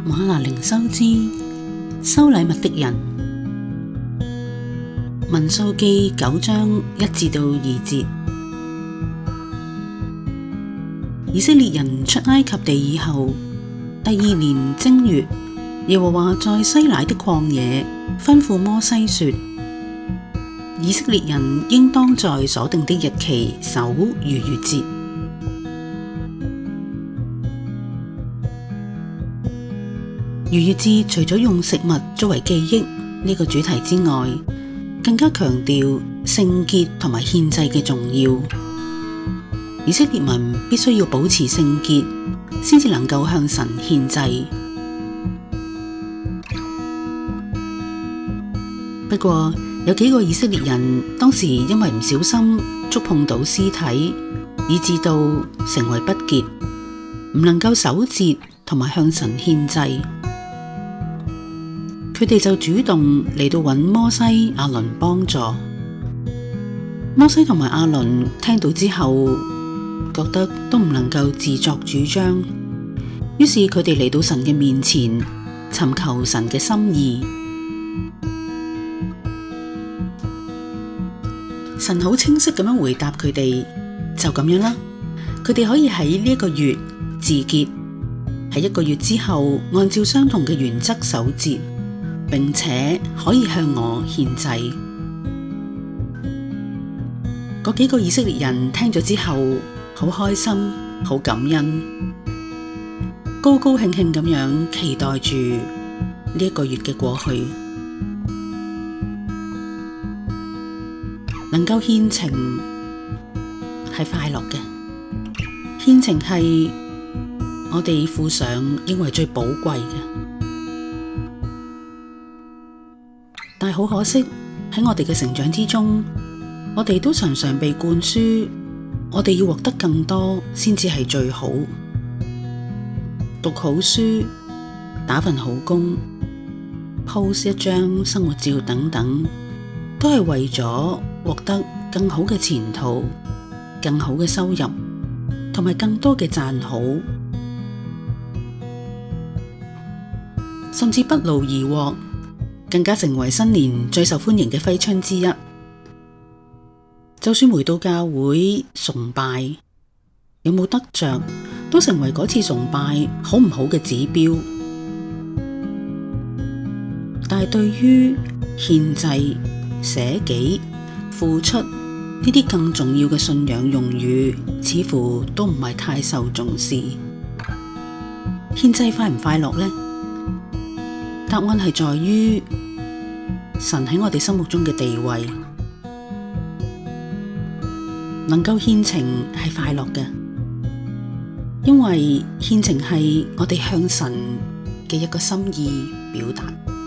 嗎哪靈修之收禮物的人，民數記9章1至2節。以色列人出埃及地以後，第2年正月，耶和華在西乃的曠野吩咐摩西說：以色列人應當在所定的日期守逾越節。逾越節除咗用食物作為記憶呢個主題之外，更加強調聖潔同埋獻祭嘅重要。以色列民必須要保持聖潔，先至能夠向神獻祭。不過有幾個以色列人當時因為唔小心觸碰到屍體，以致到成為不潔，唔能夠守節同埋向神獻祭。佢哋就主動嚟到揾摩西、亞倫幫助。摩西同埋亞倫聽到之後，覺得都唔能夠自作主張，於是佢哋嚟到神嘅面前，尋求神嘅心意。神好清晰咁樣回答佢哋，就咁樣啦。佢哋可以喺呢一個月自潔，喺1個月之後按照相同嘅原則守節，並且可以向我獻祭。嗰幾個以色列人聽咗之後，好開心，好感恩，高高興興咁樣期待住呢1個月嘅過去。能夠獻情係快樂嘅，獻情係我哋付上認為最寶貴嘅。但係好可惜，喺我哋嘅成長之中，我哋都常常被灌輸，我哋要獲得更多先至係最好。讀好書、打份好工、post 一張生活照等等，都係為咗獲得更好嘅前途、更好嘅收入，同埋更多嘅讚好，甚至不勞而獲，更加成為新年最受歡迎嘅揮春之一。就算回到教會崇拜，有冇得着，都成為嗰次崇拜好唔好嘅指標。但係對於獻祭、捨己、付出呢啲更重要嘅信仰用語，似乎都唔係太受重視。獻祭快唔快樂呢？答案係在於神喺我哋心目中嘅地位。能夠獻情係快樂嘅，因為獻情係我哋向神嘅一個心意表達。